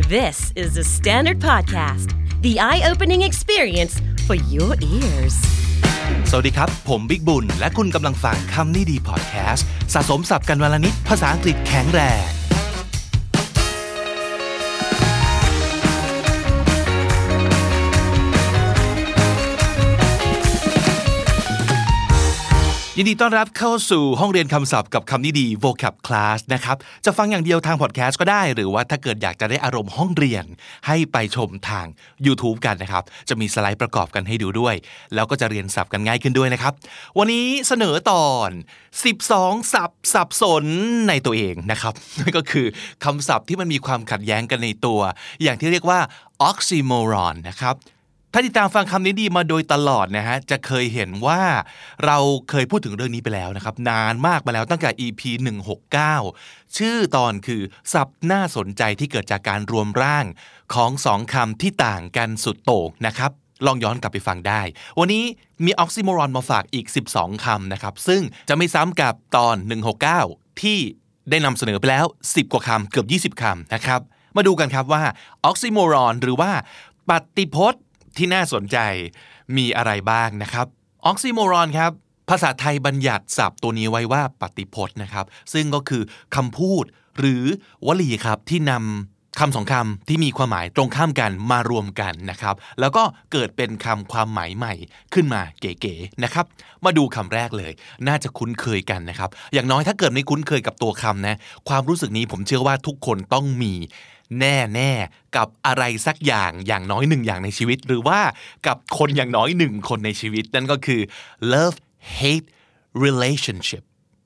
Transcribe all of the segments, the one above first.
This is the Standard Podcast, the eye-opening experience for your ears. สวัสดีครับผมบิ๊กบุญและคุณกำลังฟังคำนี้ดีพอดแคสต์สะสมศัพท์กันวันละนิดภาษาอังกฤษแข็งแรงยินดีต้อนรับเข้าสู่ห้องเรียนคำศัพท์กับคำนี้ดี vocab class นะครับจะฟังอย่างเดียวทางพอดแคสต์ก็ได้หรือว่าถ้าเกิดอยากจะได้อารมณ์ห้องเรียนให้ไปชมทาง YouTube กันนะครับจะมีสไลด์ประกอบกันให้ดูด้วยแล้วก็จะเรียนศัพท์กันง่ายขึ้นด้วยนะครับวันนี้เสนอตอน12ศัพท์สับสนในตัวเองนะครับนั่นก็คือคำศัพท์ที่มันมีความขัดแย้งกันในตัวอย่างที่เรียกว่า oxymoron นะครับถ้าติดตามฟังคำนี้ดีมาโดยตลอดนะฮะจะเคยเห็นว่าเราเคยพูดถึงเรื่องนี้ไปแล้วนะครับนานมากมาแล้วตั้งแต่ EP 169ชื่อตอนคือศัพท์น่าสนใจที่เกิดจากการรวมร่างของสองคำที่ต่างกันสุดโต่งนะครับลองย้อนกลับไปฟังได้วันนี้มีออกซิโมรอนมาฝากอีก12คำนะครับซึ่งจะไม่ซ้ำกับตอน169ที่ได้นำเสนอไปแล้ว10กว่าคำเกือบ20คำนะครับมาดูกันครับว่าออกซิโมรอนหรือว่าปฏิพจน์ที่น่าสนใจมีอะไรบ้างนะครับออกซิโมรอนครับภาษาไทยบัญญัติศัพท์ตัวนี้ไว้ว่าปฏิพจน์นะครับซึ่งก็คือคำพูดหรือวลีครับที่นำคำสองคำที่มีความหมายตรงข้ามกันมารวมกันนะครับแล้วก็เกิดเป็นคำความหมายใหม่ขึ้นมาเก๋ๆนะครับมาดูคำแรกเลยน่าจะคุ้นเคยกันนะครับอย่างน้อยถ้าเกิดไม่คุ้นเคยกับตัวคำนะความรู้สึกนี้ผมเชื่อว่าทุกคนต้องมีแน่ๆกับอะไรสักอย่างน้อยหนึ่งอย่างในชีวิตหรือว่ากับคนอย่างน้อยหนึ่งคนในชีวิตนั่นก็คือ love hate relationship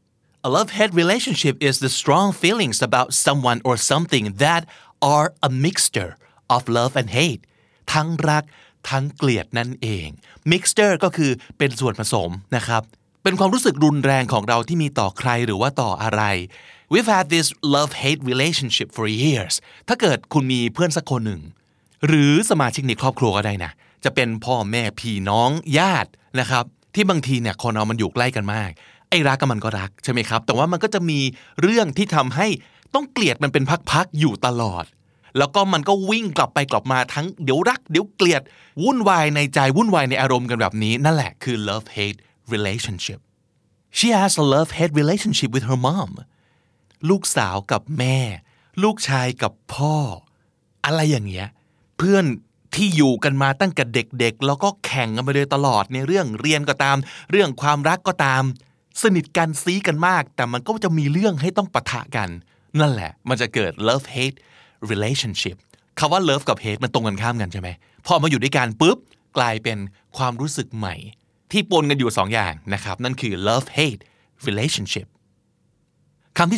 A love-hate relationship is the strong feelings about someone or something that are a mixture of love and hate ทั้งรักทั้งเกลียดนั่นเอง mixture ก็คือเป็นส่วนผสมนะครับเป็นความรู้สึกรุนแรงของเราที่มีต่อใครหรือว่าต่ออะไร We've had this love-hate relationship for years ถ้าเกิดคุณมีเพื่อนสักคนหนึ่งหรือสมาชิกในครอบครัวก็ได้นะจะเป็นพ่อแม่พี่น้องญาตินะครับที่บางทีเนี่ยคนเรามันอยู่ใกล้กันมากไอ้รักกับมันก็รักใช่ไหมครับแต่ว่ามันก็จะมีเรื่องที่ทำให้ต้องเกลียดมันเป็นพักๆอยู่ตลอดแล้วก็มันก็วิ่งกลับไปกลับมาทั้งเดี๋ยวรักเดี๋ยวเกลียดวุ่นวายในใจวุ่นวายในอารมณ์กันแบบนี้นั่นแหละคือ love hate relationship She has a love hate relationship with her mom ลูกสาวกับแม่ลูกชายกับพ่ออะไรอย่างเงี้ยเพื่อนที่อยู่กันมาตั้งแต่เด็กๆแล้วก็แข่งกันไปโดยตลอดในเรื่องเรียนก็ตามเรื่องความรักก็ตามสนิทกันซี้กันมากแต่มันก็จะมีเรื่องให้ต้องปะทะกันนั่นแหละมันจะเกิด love hate relationship คำว่า love กับ hate มันตรงกันข้ามกันใช่ไหมพอมาอยู่ด้วยกันปุ๊บกลายเป็นความรู้สึกใหม่ที่ปนกันอยู่2อย่างนะครับนั่นคือ love hate relationship คำที่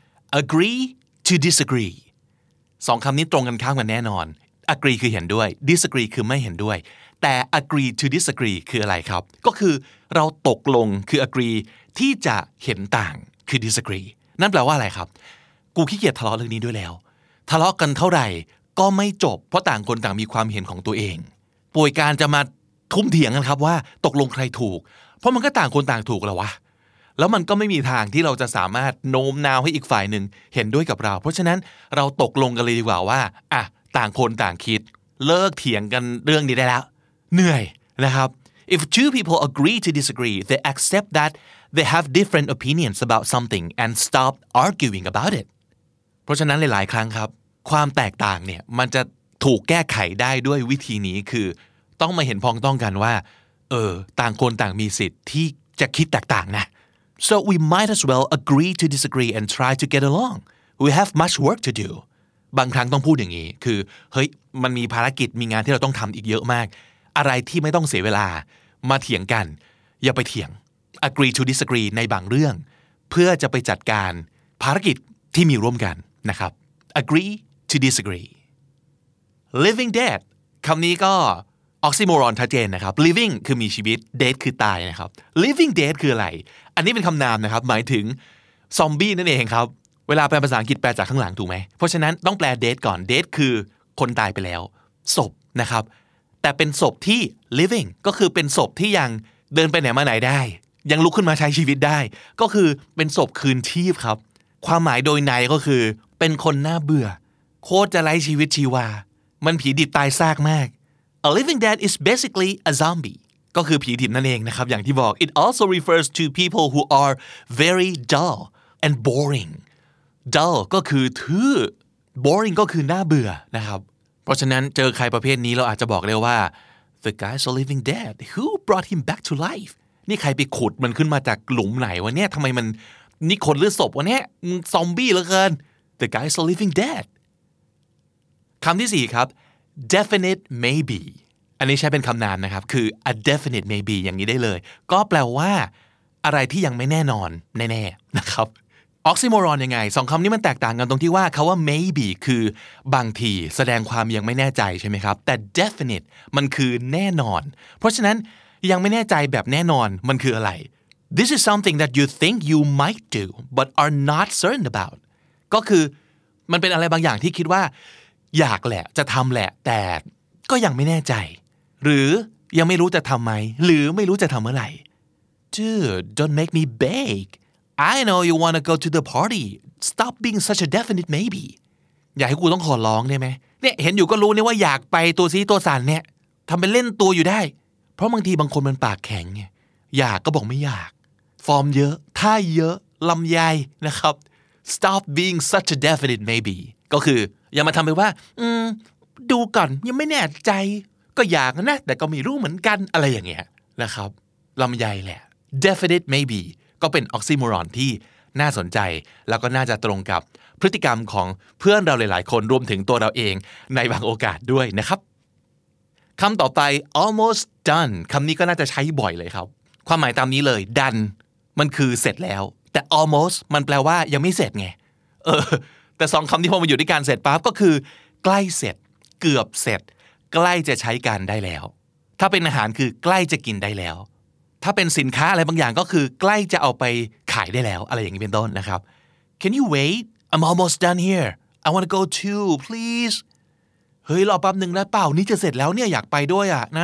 2 agree to disagree 2คำนี้ตรงกันข้ามกันแน่นอน agree คือเห็นด้วย disagree คือไม่เห็นด้วยแต่ agree to disagree คืออะไรครับก็คือเราตกลงคือ agree ที่จะเห็นต่างคือ disagree นั่นแปลว่าอะไรครับกูขี้เกียจทะเลาะเรื่องนี้ด้วยแล้วทะเลาะกันเท่าไหร่ก็ไม่จบเพราะต่างคนต่างมีความเห็นของตัวเองป่วยการจะมาทุ่มเถียงกันครับว่าตกลงใครถูกเพราะมันก็ต่างคนต่างถูกแล้ววะแล้วมันก็ไม่มีทางที่เราจะสามารถโน้มน้าวให้อีกฝ่ายหนึ่งเห็นด้วยกับเราเพราะฉะนั้นเราตกลงกันเลยดีกว่าว่าอ่ะต่างคนต่างคิดเลิกเถียงกันเรื่องนี้ได้แล้วเหนื่อยนะครับ If two people agree to disagree they accept that they have different opinions about something and stop arguing about it เพราะฉะนั้นหลายๆครั้งครับความแตกต่างเนี่ยมันจะถูกแก้ไขได้ด้วยวิธีนี้คือต้องมาเห็นพ้องต้องกันว่าต่างคนต่างมีสิทธิ์ที่จะคิดแตกต่างนะ So we might as well agree to disagree and try to get along We have much work to do บางครั้งต้องพูดอย่างนี้คือเฮ้ยมันมีภารกิจมีงานที่เราต้องทำอีกเยอะมากอะไรที่ไม่ต้องเสียเวลามาเถียงกันอย่าไปเถียง agree to disagree ในบางเรื่องเพื่อจะไปจัดการภารกิจที่มีร่วมกันนะครับ agree to disagree living dead คำนี้ก็ออกซิโมรอนชัดเจนนะครับ living คือมีชีวิต dead คือตายนะครับ living dead คืออะไรอันนี้เป็นคำนามนะครับหมายถึงซอมบี้นั่นเองครับเวลาแปลภาษาอังกฤษแปลจากข้างหลังถูกไหมเพราะฉะนั้นต้องแปล dead ก่อน dead คือคนตายไปแล้วศพนะครับแต่เป็นศพที่ living ก็คือเป็นศพที่ยังเดินไปไหนมาไหนได้ยังลุกขึ้นมาใช้ชีวิตได้ก็คือเป็นศพคืนชีพครับความหมายโดยในก็คือเป็นคนน่าเบื่อโคตรจะไร้ชีวิตชีวามันผีดิบตายซากมาก A living dead is basically a zombie ก็คือผีดิบนั่นเองนะครับอย่างที่บอก It also refers to people who are very dull and boring dull ก็คือทื่อ boring ก็คือน่าเบื่อนะครับเพราะฉะนั้นเจอใครประเภทนี้เราอาจจะบอกเลยว่า The guy's a living dead who brought him back to life นี่ใครไปขุดมันขึ้นมาจากหลุมไหนวะเนี่ยทำไมมันนี่คนหรือศพวะเนี่ยซอมบี้เหลือเกิน The guy's a living dead คำที่4ครับ definite maybe อันนี้ใช้เป็นคำนามนะครับคือ a definite maybe อย่างนี้ได้เลยก็แปลว่าอะไรที่ยังไม่แน่นอนแน่ๆนะครับออกซิโมรอนยังไงสองคำนี้มันแตกต่างกันตรงที่ว่าคำว่า maybe คือบางทีแสดงความยังไม่แน่ใจใช่ไหมครับแต่ definite มันคือแน่นอนเพราะฉะนั้นยังไม่แน่ใจแบบแน่นอนมันคืออะไร This is something that you think you might do but are not certain about ก็คือมันเป็นอะไรบางอย่างที่คิดว่าอยากแหละจะทำแหละแต่ก็ยังไม่แน่ใจหรือยังไม่รู้จะทำไหมหรือไม่รู้จะทำเมื่อไหร่ Dude don't make me beg I know you want to go to the party stop being such a definite maybe อยากให้กูต้องขอร้องได้ไหมเนี่ยเห็นอยู่ก็รู้เนี่ยว่าอยากไปตัวซีตัวสั่นเนี่ยทำเป็นเล่นตัวอยู่ได้เพราะบางทีบางคนมันปากแข็งไงอยากก็บอกไม่อยากฟอร์มเยอะท่าเยอะลำไยนะครับ stop being such a definite maybe ก็คืออย่ามาทำไปว่าดูก่อนยังไม่แน่ใจก็อยากนะแต่ก็ไม่รู้เหมือนกันอะไรอย่างเงี้ยนะครับลำไยแหละ definite maybe ก็เป็นออกซิโมรอนที่น่าสนใจแล้วก็น่าจะตรงกับพฤติกรรมของเพื่อนเราหลายๆคนรวมถึงตัวเราเองในบางโอกาสด้วยนะครับคำต่อไป almost done คำนี้ก็น่าจะใช้บ่อยเลยครับความหมายตามนี้เลย done มันคือเสร็จแล้วแต่ almost มันแปลว่ายังไม่เสร็จไงแต่สองคำที่พอมาอยู่ด้วยกันเสร็จปั๊บก็คือใกล้เสร็จเกือบเสร็จใกล้จะใช้การได้แล้วถ้าเป็นอาหารคือใกล้จะกินได้แล้วถ้าเป็นสินค้าอะไรบางอย่างก็คือใกล้จะเอาไปขายได้แล้วอะไรอย่างนี้เป็นต้นนะครับ Can you wait I'm almost done here I want to go too please เฮ้ยรอแป๊บนึงนะเปล่านี่จะเสร็จแล้วเนี่ยอยากไปด้วยอ่ะนะ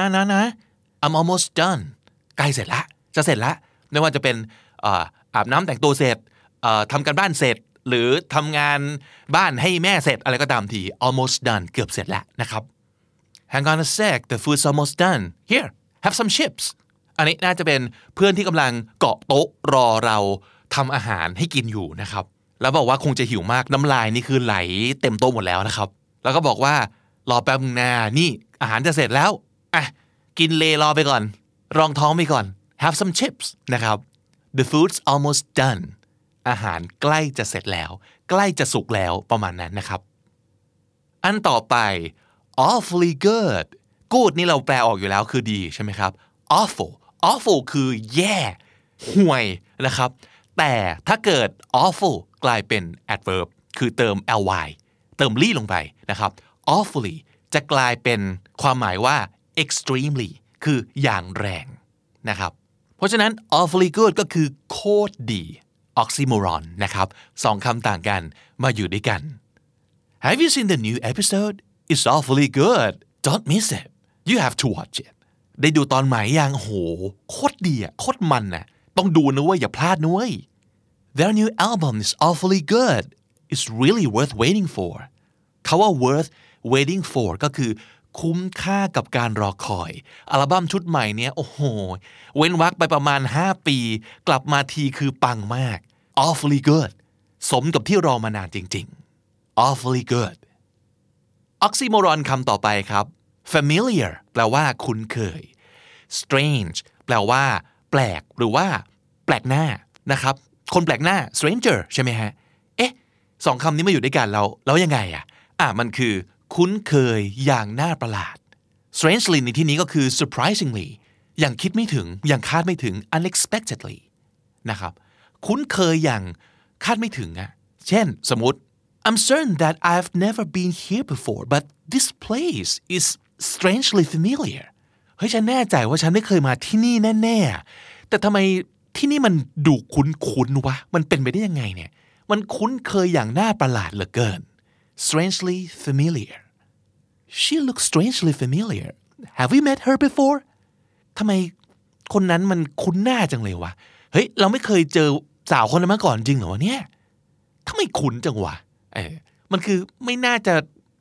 I'm almost done ใกล้เสร็จละจะเสร็จละไม่ว่าจะเป็นอาบน้ำแต่งตัวเสร็จทำการบ้านเสร็จหรือทำงานบ้านให้แม่เสร็จอะไรก็ตามที almost done เกือบเสร็จแล้วนะครับ Hang on a sec the food's almost done here have some chips อันนี้น่าจะเป็นเพื่อนที่กำลังเกาะโต๊ะรอเราทำอาหารให้กินอยู่นะครับแล้วบอกว่าคงจะหิวมากน้ำลายนี่คือไหลเต็มโต๊ะหมดแล้วนะครับแล้วก็บอกว่ารอแป๊บนึงนะนี่อาหารจะเสร็จแล้วอ่ะกินเลรอไปก่อนรองท้องไปก่อน have some chips นะครับ the food's almost done อาหารใกล้จะเสร็จแล้วใกล้จะสุกแล้วประมาณนั้นนะครับอันต่อไป awfully good good นี่เราแปลออกอยู่แล้วคือดีใช่ไหมครับ awful คือแย่ห่วยนะครับแต่ถ้าเกิด awful กลายเป็น adverb คือเติม ly เติมลี่ลงไปนะครับ awfully จะกลายเป็นความหมายว่า extremely คืออย่างแรงนะครับเพราะฉะนั้น awfully good ก็คือโคตรดี oxymoron นะครับสองคำต่างกันมาอยู่ด้วยกัน Have you seen the new episode? It's awfully good. Don't miss it. You have to watch it. ได้ดูตอนใหม่ยังโหโคตรดีอ่ะโคตรมันน่ะต้องดูนะเว้ยอย่าพลาดนะเว้ย Their new album is awfully good. It's really worth waiting for. คำว่า worth waiting for ก็คือคุ้มค่ากับการรอคอยอัลบั้มชุดใหม่เนี้ยโอ้โหเว้นวรรคไปประมาณ5ปีกลับมาทีคือปังมาก awfully good สมกับที่รอมานานจริงๆ awfully good ออกซิโมรอนคำต่อไปครับ familiar แปลว่าคุ้นเคย strange แปลว่าแปลกหรือว่าแปลกหน้านะครับคนแปลกหน้า stranger ใช่ไหมฮะสองคำนี้มาอยู่ด้วยกันแล้วยังไงมันคือคุ้นเคยอย่างน่าประหลาด strangely ในที่นี้ก็คือ surprisingly อย่างคิดไม่ถึงอย่างคาดไม่ถึง unexpectedly นะครับคุ้นเคยอย่างคาดไม่ถึงเช่นสมมติ I'm certain that I've never been here before but this place is strangely familiar เฮ้ยฉันแน่ใจว่าฉันไม่เคยมาที่นี่แน่ๆแต่ทำไมที่นี่มันดูคุ้นๆวะมันเป็นไปได้ยังไงเนี่ยมันคุ้นเคยอย่างน่าประหลาดเหลือเกิน strangely familiar She looks strangely familiar Have we met her before ทำไมคนนั้นมันคุ้นหน้าจังเลยวะเฮ้ยเราไม่เคยเจอสาวคนนั้นมาก่อนจริงเหรอวะเนี่ยทำไมคุ้นจังวะมันคือไม่น่าจะ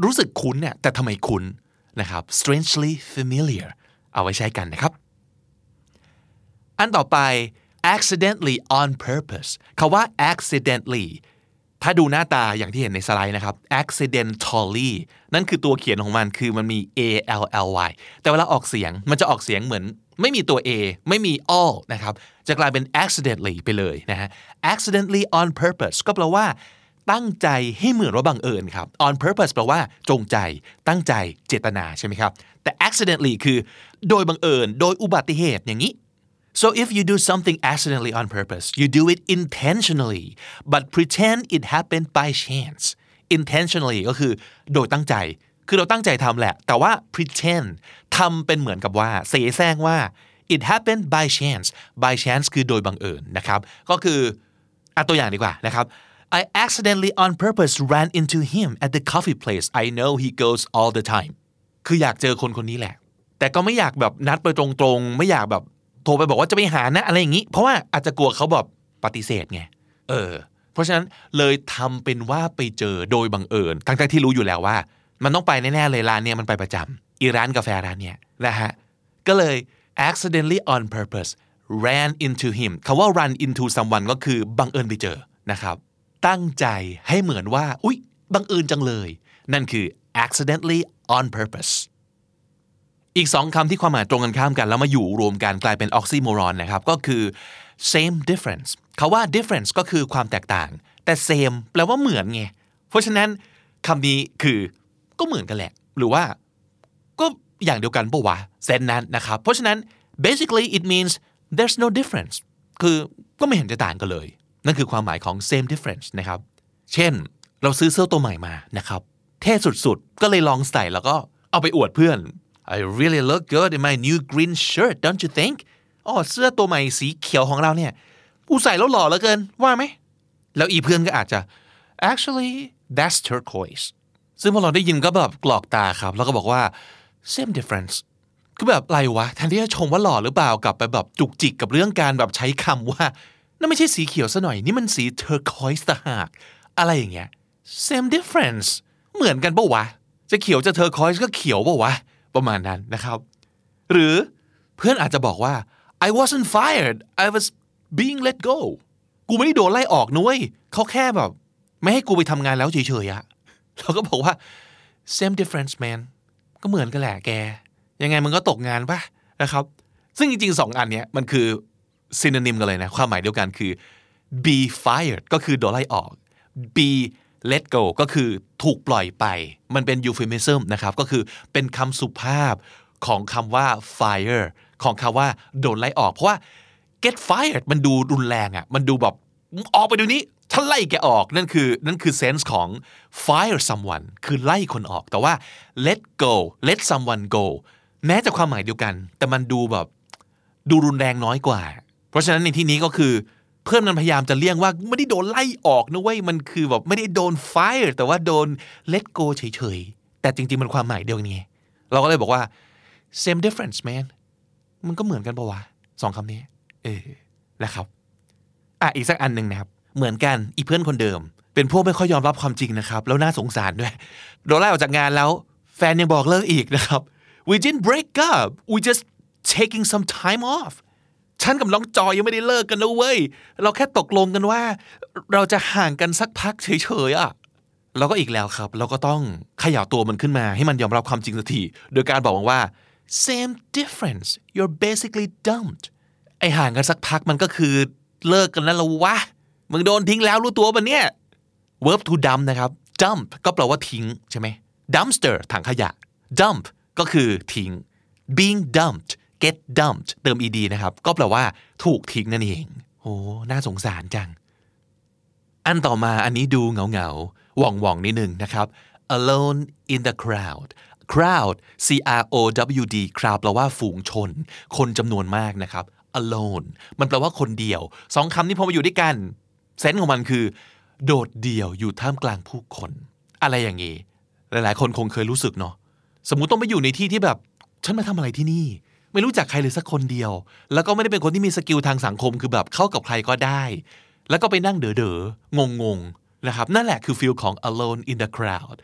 รู้สึกคุ้นเนี่ยแต่ทำไมคุ้นนะครับ strangely familiar เอาไว้ใช้กันนะครับอันต่อไป accidentally on purpose คำว่า accidentally ถ้าดูหน้าตาอย่างที่เห็นในสไลด์นะครับ accidentally นั่นคือตัวเขียนของมันคือมันมี ALLY แต่เวลาออกเสียงมันจะออกเสียงเหมือนไม่มีตัว A ไม่มี all นะครับจะกลายเป็น accidentally ไปเลยนะฮะ accidentally on purpose ก็แปลว่าตั้งใจให้เหมือนว่าบังเอิญครับ on purpose แปลว่าจงใจตั้งใจเจตนาใช่ไหมครับแต่ accidentally คือโดยบังเอิญโดยอุบัติเหตุอย่างนี้So if you do something accidentally on purpose, you do it intentionally, but pretend it happened by chance. Intentionally ก็คือโดยตั้งใจคือเราตั้งใจทำแหละแต่ว่า pretend ทำเป็นเหมือนกับว่าเสแสร้งว่า it happened by chance. By chance คือโดยบังเอิญนะครับก็คือตัวอย่างดีกว่านะครับ I accidentally on purpose ran into him at the coffee place. I know he goes all the time. คืออยากเจอคนนี้แหละแต่ก็ไม่อยากแบบนัดไปตรงๆไม่อยากแบบโทรไปบอกว่าจะไปหานะอะไรอย่างนี้เพราะว่าอาจจะกลัวเขาแบบปฏิเสธไงเพราะฉะนั้นเลยทำเป็นว่าไปเจอโดยบังเอิญทั้งที่รู้อยู่แล้วว่ามันต้องไปแน่ๆเลยร้านเนี้ยมันไปประจำอีร้านกาแฟร้านเนี้ยนะฮะก็เลย accidentally on purpose ran into him คำว่า run into someone ก็คือบังเอิญไปเจอนะครับตั้งใจให้เหมือนว่าอุ๊ยบังเอิญจังเลยนั่นคือ accidentally on purposeอีก2คำที่ความหมายตรงกันข้ามกันแล้วมาอยู่รวมกันกลายเป็น oxymoron นะครับก็คือ same difference คำว่า difference ก็คือความแตกต่างแต่ same แปลว่าเหมือนไงเพราะฉะนั้นคำนี้คือก็เหมือนกันแหละหรือว่าก็อย่างเดียวกันปะวะเซนนั้นนะครับเพราะฉะนั้น basically it means there's no difference คือก็ไม่เห็นจะต่างกันเลยนั่นคือความหมายของ same difference นะครับเช่นเราซื้อเสื้อตัวใหม่มานะครับเท่สุดๆก็เลยลองใส่แล้วก็เอาไปอวดเพื่อนI really look good in my new green shirt, don't you think? เสื้อตัวใหม่สีเขียวของเราเนี่ยกูใส่แล้วหล่อเหลือเกินว่าไหมแล้วอีเพื่อนก็อาจจะ Actually, that's turquoise ซึ่งพอเราได้ยินก็แบบกรอกตาครับแล้วก็บอกว่า same difference คือแบบอะไรวะแทนที่จะชมว่าหล่อหรือเปล่ากลับไปแบบจุกจิกกับเรื่องการแบบใช้คำว่านั่นไม่ใช่สีเขียวซะหน่อยนี่มันสี turquoise ต่างหากอะไรอย่างเงี้ย same difference เหมือนกันปะวะจะเขียวจะ turquoise ก็เขียวปะวะประมาณนั้นนะครับหรือเพื่อนอาจจะบอกว่า I wasn't fired I was being let go กูไม่ได้โดนไล่ออกนุ้ยเขาแค่แบบไม่ให้กูไปทำงานแล้วเฉยๆอะเราก็บอกว่า same difference man ก็เหมือนกันแหละแกยังไงมึงก็ตกงานป่ะนะครับซึ่งจริงๆ2อันเนี้ยมันคือ synonym กันเลยนะความหมายเดียวกันคือ be fired ก็คือโดนไล่ออก be let go ก็คือถูกปล่อยไปมันเป็น euphemism นะครับก็คือเป็นคำสุภาพของคำว่า fire ของคำว่าโดนไล่ออกเพราะว่า get fired มันดูรุนแรงอ่ะมันดูแบบออกไปเดี๋ยวนี้ฉันไล่แกออกนั่นคือ sense ของ fire someone คือไล่คนออกแต่ว่า let go let someone go แม้จะความหมายเดียวกันแต่มันดูแบบดูรุนแรงน้อยกว่าเพราะฉะนั้นในที่นี้ก็คือเพื่อนมันพยายามจะเลี่ยงว่าไม่ได้โดนไล่ออกนะเว้ยมันคือแบบไม่ได้โดน fire แต่ว่าโดน let go เฉยๆแต่จริงๆมันความหมายเดียวกันไงเราก็เลยบอกว่า same difference man มันก็เหมือนกันปะวะ2คำนี้นะครับอีกสักอันนึงนะครับเหมือนกันอีเพื่อนคนเดิมเป็นพวกไม่ค่อยยอมรับความจริงนะครับแล้วน่าสงสารด้วยโดนไล่ออกจากงานแล้วแฟนยังบอกเลิกอีกนะครับ we didn't break up we just taking some time offฉันกับน้องจอยยังไม่ได้เลิกกันนะเว้ยเราแค่ตกลงกันว่าเราจะห่างกันสักพักเฉยๆเราก็อีกแล้วครับเราก็ต้องเขย่าตัวมันขึ้นมาให้มันยอมรับความจริงสักทีโดยการบอกว่า same difference you're basically dumped ไอห่างกันสักพักมันก็คือเลิกกันแล้วละวะมึงโดนทิ้งแล้วรู้ตัวปะเนี่ย verb to dump นะครับ dump ก็แปลว่าทิ้งใช่ไหม dumpster ถังขยะ dump ก็คือทิ้ง being dumped get dumped เติม ed นะครับก็แปลว่าถูกทิ้งนั่นเองโอ้น่าสงสารจังอันต่อมาอันนี้ดูเหงาๆว่องๆนิดนึงนะครับ alone in the crowd crowd c r o w d crowd แปลว่าฝูงชนคนจำนวนมากนะครับ alone มันแปลว่าคนเดียว2คำนี้พอมาอยู่ด้วยกันเซนส์ของมันคือโดดเดี่ยวอยู่ท่ามกลางผู้คนอะไรอย่างงี้หลายๆคนคงเคยรู้สึกเนาะสมมุติต้องไปอยู่ในที่ที่แบบฉันมาทำอะไรที่นี่ไม่รู้จักใครเลยสักคนเดียวแล้วก็ไม่ได้เป็นคนที่มีสกิลทางสังคมคือแบบเข้ากับใครก็ได้แล้วก็ไปนั่งเด๋อๆงงๆนะครับนั่นแหละคือฟีลของ alone in the crowd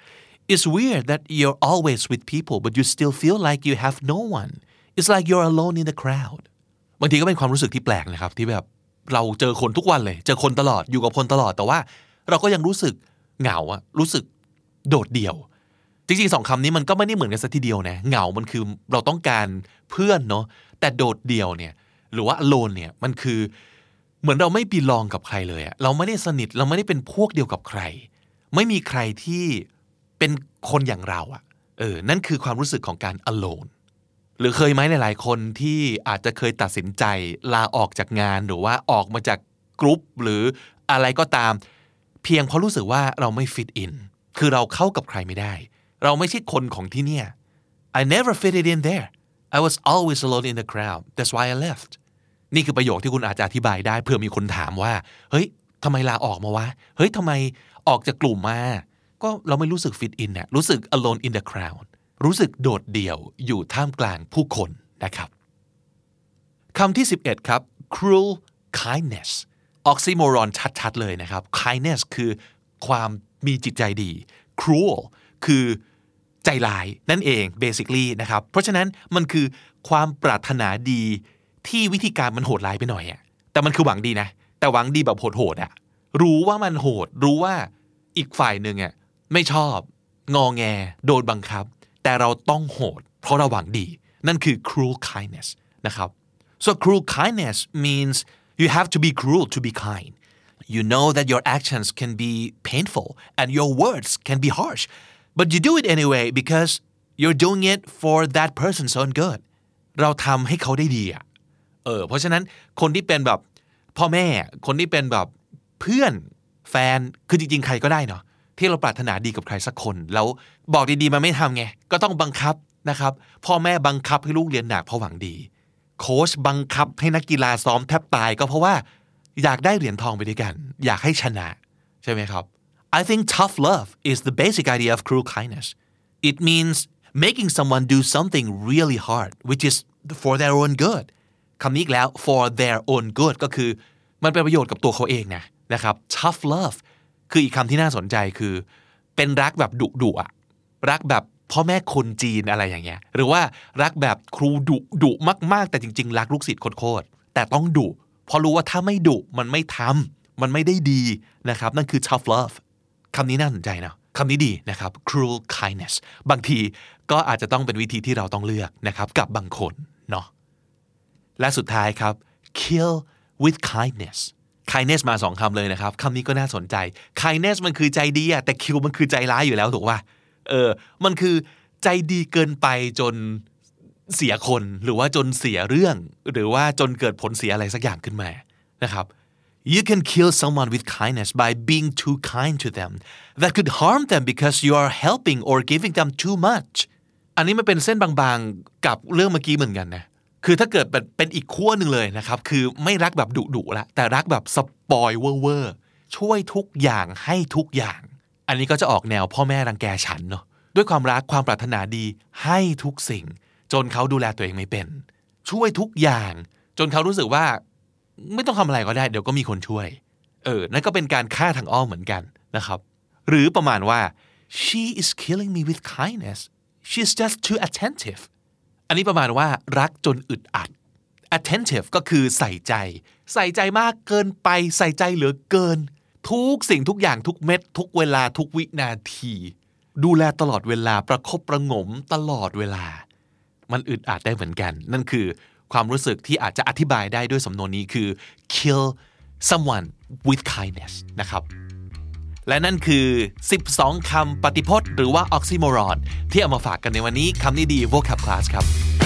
It's weird that you're always with people but you still feel like you have no one. It's like you're alone in the crowd. บางทีก็เป็นความรู้สึกที่แปลกนะครับที่แบบเราเจอคนทุกวันเลยเจอคนตลอดอยู่กับคนตลอดแต่ว่าเราก็ยังรู้สึกเหงาอะรู้สึกโดดเดี่ยวจริงๆ2คำนี้มันก็ไม่ได้เหมือนกันซะทีเดียวนะเหงามันคือเราต้องการเพื่อนเนาะแต่โดดเดี่ยวเนี่ยหรือว่า alone เนี่ยมันคือเหมือนเราไม่belongกับใครเลยอะเราไม่ได้สนิทเราไม่ได้เป็นพวกเดียวกับใครไม่มีใครที่เป็นคนอย่างเราอะนั่นคือความรู้สึกของการ alone หรือเคยไหมหลายๆคนที่อาจจะเคยตัดสินใจลาออกจากงานหรือว่าออกมาจากกรุ๊ปหรืออะไรก็ตามเพียงเพราะรู้สึกว่าเราไม่ fit in คือเราเข้ากับใครไม่ได้เราไม่ใช่คนของที่เนี่ย I never fitted in there I was always alone in the crowd that's why I left นี่คือประโยคที่คุณอาจจะอธิบายได้เผื่อมีคนถามว่าเฮ้ยทำไมลาออกมาวะเฮ้ยทำไมออกจากกลุ่มมาก็เราไม่รู้สึก fit in น่ะรู้สึก alone in the crowd รู้สึกโดดเดี่ยวอยู่ท่ามกลางผู้คนนะครับคำที่11ครับ cruel kindness ออกซิโมรอนชัดๆเลยนะครับ kindness คือความมีจิตใจดี cruel คือใจร้ายนั่นเอง basically นะครับเพราะฉะนั้นมันคือความปรารถนาดีที่วิธีการมันโหดร้ายไปหน่อยอ่ะแต่มันคือหวังดีนะแต่หวังดีแบบโหดๆอ่ะรู้ว่ามันโหดรู้ว่าอีกฝ่ายหนึ่งอ่ะไม่ชอบงอแงโดนบังคับแต่เราต้องโหดเพราะเราหวังดีนั่นคือ cruel kindness นะครับ so cruel kindness means you have to be cruel to be kind you know that your actions can be painful and your words can be harsh but you do it anyway because you're doing it for that person's own good เราทำให้เขาได้ดีอ่ะเพราะฉะนั้นคนที่เป็นแบบพ่อแม่คนที่เป็นแบบเพื่อนแฟนคือจริงๆใครก็ได้เนาะที่เราปรารถนาดีกับใครสักคนแล้วบอกดีๆมันไม่ทำไงก็ต้องบังคับนะครับพ่อแม่บังคับให้ลูกเรียนหนักเพราะหวังดีโค้ชบังคับให้นักกีฬาซ้อมแทบตายก็เพราะว่าอยากได้เหรียญทองไปด้วยกันอยากให้ชนะใช่ไหมครับ I think tough love is the basic idea of cruel kindness it means making someone do something really hard which is for their own good คำนี้อีกแล้ว for their own good ก็คือมันเป็นประโยชน์กับตัวเขาเองนะครับ tough love คืออีกคำที่น่าสนใจคือเป็นรักแบบดุๆอะรักแบบพ่อแม่คนจีนอะไรอย่างเงี้ยหรือว่ารักแบบครูดุมากๆแต่จริงๆรักลูกศิษย์โคตรๆแต่ต้องดุเพราะรู้ว่าถ้าไม่ดุมันไม่ทำมันไม่ได้ดีนะครับนั่นคือ tough love คำนี้น่าสนใจนะคำนี้ดีนะครับ cruel kindness บางทีก็อาจจะต้องเป็นวิธีที่เราต้องเลือกนะครับกับบางคนเนาะและสุดท้ายครับ kill with kindness kindness มา2คำเลยนะครับคำนี้ก็น่าสนใจ kindness มันคือใจดีอะแต่ kill มันคือใจร้ายอยู่แล้วถูกป่ะมันคือใจดีเกินไปจนเสียคนหรือว่าจนเสียเรื่องหรือว่าจนเกิดผลเสียอะไรสักอย่างขึ้นมานะครับ You can kill someone with kindness by being too kind to them that could harm them because you are helping or giving them too much อันนี้มันเป็นเส้นบางๆกับเรื่องเมื่อกี้เหมือนกันนะคือถ้าเกิดเป็นอีกขั้วหนึ่งเลยนะครับคือไม่รักแบบดุๆละแต่รักแบบสปอยเวอร์ช่วยทุกอย่างให้ทุกอย่างอันนี้ก็จะออกแนวพ่อแม่รังแกฉันเนาะด้วยความรักความปรารถนาดีให้ทุกสิ่งจนเขาดูแลตัวเองไม่เป็นช่วยทุกอย่างจนเขารู้สึกว่าไม่ต้องทำอะไรก็ได้เดี๋ยวก็มีคนช่วยนั่นก็เป็นการฆ่าทางอ้อมเหมือนกันนะครับหรือประมาณว่า she is killing me with kindness she's just too attentive อันนี้ประมาณว่ารักจนอึดอัด attentive ก็คือใส่ใจมากเกินไปใส่ใจเหลือเกินทุกสิ่งทุกอย่างทุกเม็ดทุกเวลาทุกวินาทีดูแลตลอดเวลาประคบประหงมตลอดเวลามันอึดอัดได้เหมือนกันนั่นคือความรู้สึกที่อาจจะอธิบายได้ด้วยสำนวนนี้คือ kill someone with kindness นะครับและนั่นคือ12คำปฏิพจน์หรือว่า oxymoron ที่เอามาฝากกันในวันนี้คำนี้ดี vocab class ครับ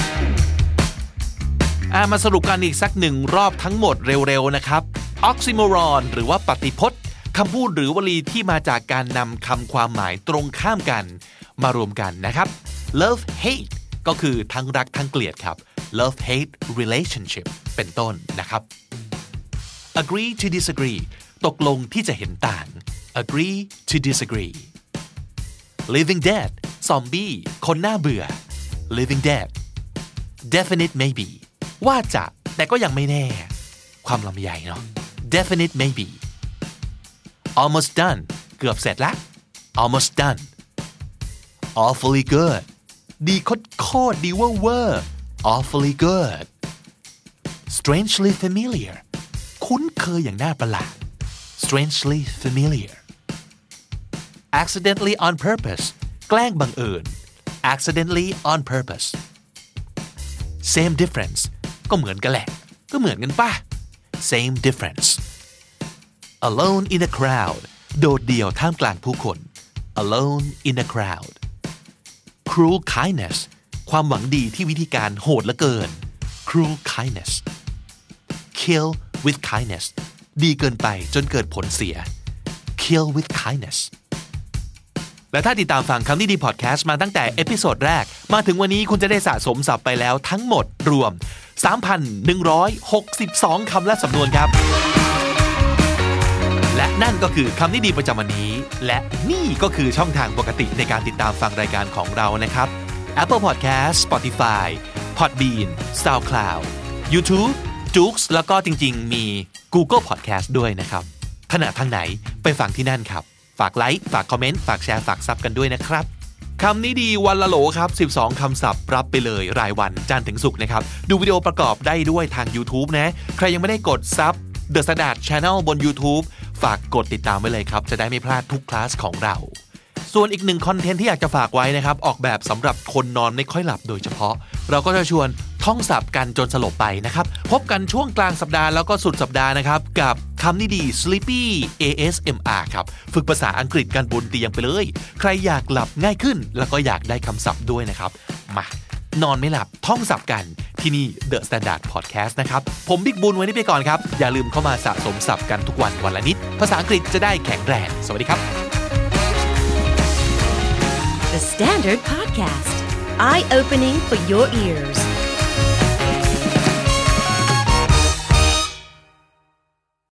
มาสรุปกันอีกสักหนึ่งรอบทั้งหมดเร็วๆนะครับ oxymoron หรือว่าปฏิพจน์คำพูดหรือวลีที่มาจากการนำคำความหมายตรงข้ามกันมารวมกันนะครับ love hate ก็คือทั้งรักทั้งเกลียดครับ love hate relationship เป็นต้นนะครับ agree to disagree ตกลงที่จะเห็นต่าง agree to disagree living dead ซอมบี้คนน่าเบื่อ living dead definite maybe ว่าจะแต่ก็ยังไม่แน่ความลำใหญ่เนาะ definite maybe almost done เกือบเสร็จแล้ว almost done awfully good ดีโคตรดีเวอร์ awfully good strangely familiar คุ้นเคยอย่างน่าประหลาด strangely familiar accidentally on purpose แกล้งบังเอิญ accidentally on purpose same difference ก็เหมือนกันแหละก็เหมือนกันป่ะ same difference alone in a crowd โดดเดี่ยวท่ามกลางผู้คน alone in a crowd cruel kindness ความหวังดีที่วิธีการโหดเหลือเกิน cruel kindness kill with kindness ดีเกินไปจนเกิดผลเสีย kill with kindness และถ้าติดตามฟังคำนี้ดีพอดแคสต์มาตั้งแต่เอพิโซดแรกมาถึงวันนี้คุณจะได้สะสมศัพท์ไปแล้วทั้งหมดรวม 3,162 คำและสำนวนครับและนั่นก็คือคำนี้ดีประจำวันนี้และนี่ก็คือช่องทางปกติในการติดตามฟังรายการของเรานะครับ Apple Podcast Spotify Podbean SoundCloud YouTube Joox แล้วก็จริงๆมี Google Podcast ด้วยนะครับถนัดทางไหนไปฟังที่นั่นครับฝากไลค์ฝากคอมเมนต์ฝากแชร์ฝากซับกันด้วยนะครับคำนี้ดีวันละโหลครับ12คำศัพท์รับไปเลยรายวันจันทร์ถึงศุกร์นะครับดูวิดีโอประกอบได้ด้วยทาง YouTube นะใครยังไม่ได้กดซับ The Standard Channel บน YouTube ฝากกดติดตามไว้เลยครับจะได้ไม่พลาดทุกคลาสของเราส่วนอีกหนึ่งคอนเทนต์ที่อยากจะฝากไว้นะครับออกแบบสำหรับคนนอนไม่ค่อยหลับโดยเฉพาะเราก็จะชวนท่องศัพท์กันจนสลบไปนะครับพบกันช่วงกลางสัปดาห์แล้วก็สุดสัปดาห์นะครับกับคำนี้ดี Sleepy ASMR ครับฝึกภาษาอังกฤษกันบนเตียงไปเลยใครอยากหลับง่ายขึ้นแล้วก็อยากได้คำศัพท์ด้วยนะครับมานอนไม่หลับท่องศัพท์กันที่นี่ The Standard Podcast นะครับผมบิ๊กบุญวันนี้ไปก่อนครับอย่าลืมเข้ามาสะสมศัพท์กันทุกวันวันละนิดภาษาอังกฤษจะได้แข็งแรงสวัสดีครับ The Standard Podcast Eye-opening for your ears